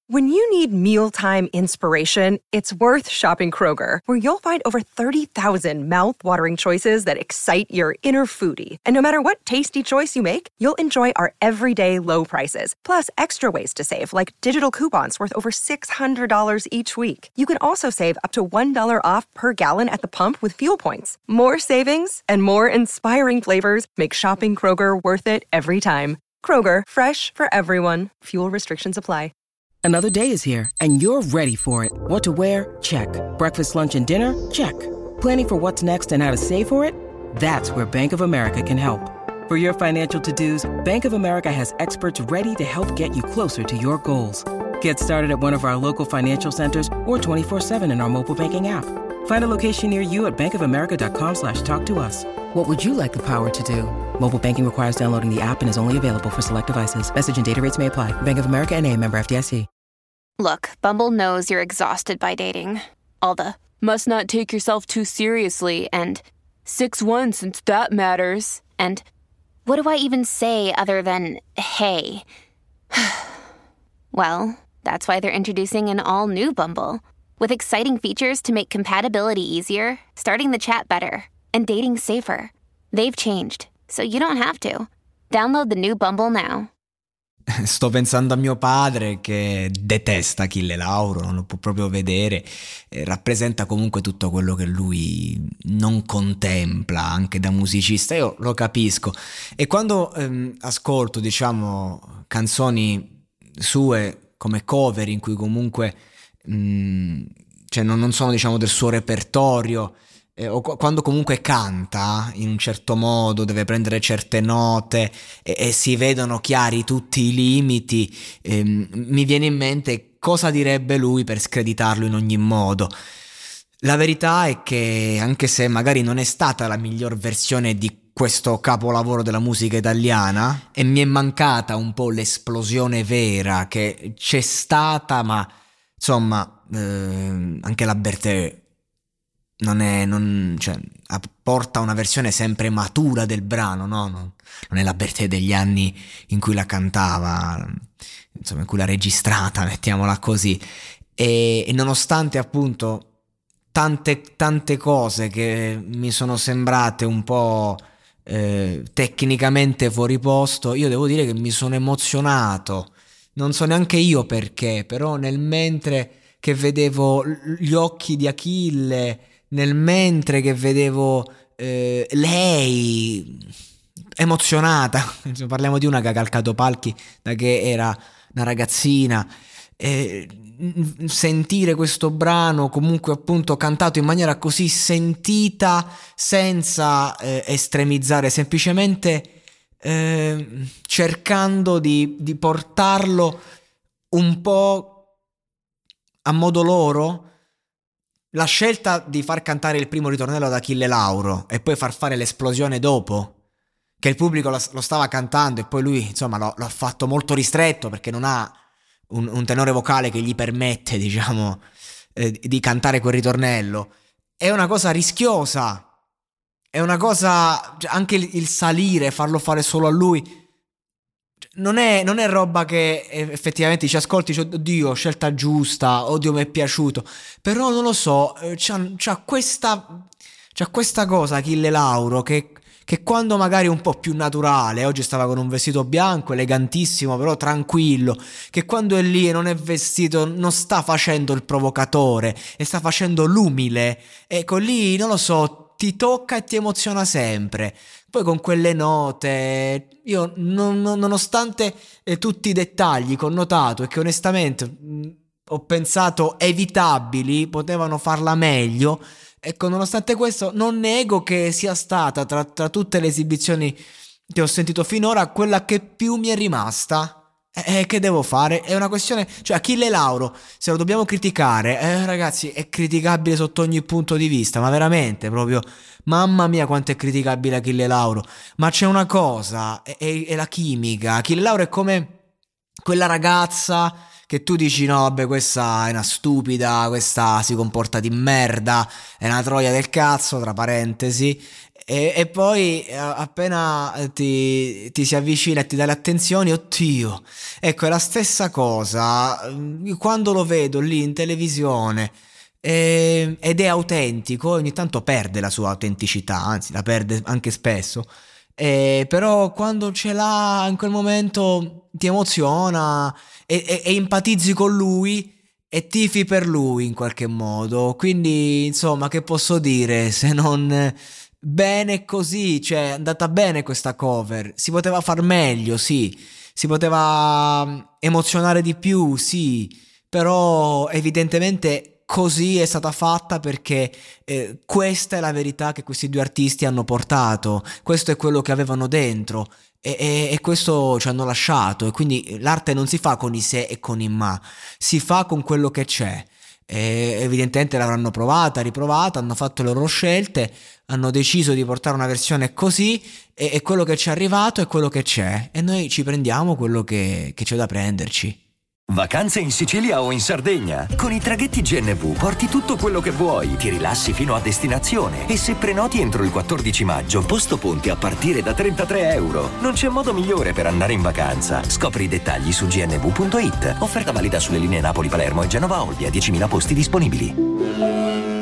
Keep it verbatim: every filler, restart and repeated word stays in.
When you need mealtime inspiration, it's worth shopping Kroger, where you'll find over thirty thousand mouth-watering choices that excite your inner foodie. And no matter what tasty choice you make, you'll enjoy our everyday low prices, plus extra ways to save, like digital coupons worth over six hundred dollars each week. You can also save up to one dollar off per gallon at the pump with fuel points. More savings and more inspiring flavors make shopping Kroger worth it every time. Kroger, fresh for everyone. Fuel restrictions apply. Another day is here, and you're ready for it. What to wear? Check. Breakfast, lunch, and dinner? Check. Planning for what's next and how to save for it? That's where Bank of America can help. For your financial to-dos, Bank of America has experts ready to help get you closer to your goals. Get started at one of our local financial centers or twenty-four seven in our mobile banking app. Find a location near you at bankofamerica.com slash talk to us. What would you like the power to do? Mobile banking requires downloading the app and is only available for select devices. Message and data rates may apply. Bank of America N A, member F D I C. Look, Bumble knows you're exhausted by dating. All the, must not take yourself too seriously, and six one since that matters. And what do I even say other than, hey? Well, that's why they're introducing an all-new Bumble, with exciting features to make compatibility easier, starting the chat better, and dating safer. They've changed, so you don't have to. Download the new Bumble now. Sto pensando a mio padre che detesta Achille Lauro, non lo può proprio vedere, eh, rappresenta comunque tutto quello che lui non contempla anche da musicista. Io lo capisco, e quando ehm, ascolto, diciamo, canzoni sue come cover in cui comunque mh, cioè non, non sono, diciamo, del suo repertorio, Eh, o quando comunque canta in un certo modo, deve prendere certe note e, e si vedono chiari tutti i limiti, ehm, mi viene in mente cosa direbbe lui per screditarlo in ogni modo. La verità è che, anche se magari non è stata la miglior versione di questo capolavoro della musica italiana, e mi è mancata un po' l'esplosione vera che c'è stata, ma insomma eh, anche la Bertè non è, non, cioè, porta una versione sempre matura del brano, no? Non, non è la Bertè degli anni in cui la cantava, insomma, in cui l'ha registrata, mettiamola così. E, e nonostante appunto tante, tante cose che mi sono sembrate un po' eh, tecnicamente fuori posto, io devo dire che mi sono emozionato. Non so neanche io perché, però nel mentre che vedevo gli occhi di Achille, nel mentre che vedevo eh, lei emozionata, parliamo di una che ha calcato palchi da che era una ragazzina, eh, sentire questo brano comunque appunto cantato in maniera così sentita, senza eh, estremizzare, semplicemente eh, cercando di, di portarlo un po' a modo loro. La scelta di far cantare il primo ritornello ad Achille Lauro e poi far fare l'esplosione dopo, che il pubblico lo, lo stava cantando, e poi lui insomma lo, lo ha fatto molto ristretto perché non ha un, un tenore vocale che gli permette, diciamo, eh, di cantare quel ritornello, è una cosa rischiosa, è una cosa, anche il, il salire, farlo fare solo a lui, Non è, non è roba che effettivamente ci ascolti, cioè, oddio, scelta giusta, oddio, mi è piaciuto. Però non lo so, c'ha, c'ha questa c'ha questa cosa Achille Lauro che, che quando magari è un po' più naturale, oggi stava con un vestito bianco, elegantissimo, però tranquillo, che quando è lì e non è vestito non sta facendo il provocatore, e sta facendo l'umile. Ecco, lì, non lo so, ti tocca e ti emoziona sempre. Poi con quelle note, io non, non, nonostante eh, tutti i dettagli che ho notato e che onestamente mh, ho pensato evitabili, potevano farla meglio, ecco, nonostante questo non nego che sia stata tra, tra tutte le esibizioni che ho sentito finora quella che più mi è rimasta. E eh, che devo fare? È una questione, cioè Achille Lauro, se lo dobbiamo criticare, eh, ragazzi, è criticabile sotto ogni punto di vista, ma veramente proprio, mamma mia quanto è criticabile Achille Lauro. Ma c'è una cosa, è, è, è la chimica. Achille Lauro è come quella ragazza che tu dici no vabbè, questa è una stupida, questa si comporta di merda, è una troia del cazzo, tra parentesi, E, e poi appena ti, ti si avvicina e ti dà le attenzioni, oddio, ecco, è la stessa cosa quando lo vedo lì in televisione e, ed è autentico, ogni tanto perde la sua autenticità, anzi la perde anche spesso, e, però quando ce l'ha in quel momento ti emoziona e, e, e empatizzi con lui e tifi per lui in qualche modo. Quindi insomma, che posso dire se non bene così? Cioè, è andata bene questa cover, si poteva far meglio, sì, si poteva emozionare di più, sì, però evidentemente così è stata fatta perché eh, questa è la verità che questi due artisti hanno portato, questo è quello che avevano dentro e, e, e questo ci hanno lasciato. E quindi l'arte non si fa con i se e con i ma, si fa con quello che c'è. E evidentemente l'avranno provata, riprovata, hanno fatto le loro scelte, hanno deciso di portare una versione così e, e quello che ci è arrivato è quello che c'è e noi ci prendiamo quello che, che c'è da prenderci. Vacanze in Sicilia o in Sardegna? Con i traghetti G N V porti tutto quello che vuoi, ti rilassi fino a destinazione e se prenoti entro il quattordici maggio, posto ponti a partire da trentatré euro. Non c'è modo migliore per andare in vacanza. Scopri i dettagli su g n v punto i t. Offerta valida sulle linee Napoli-Palermo e Genova-Olbia, diecimila posti disponibili.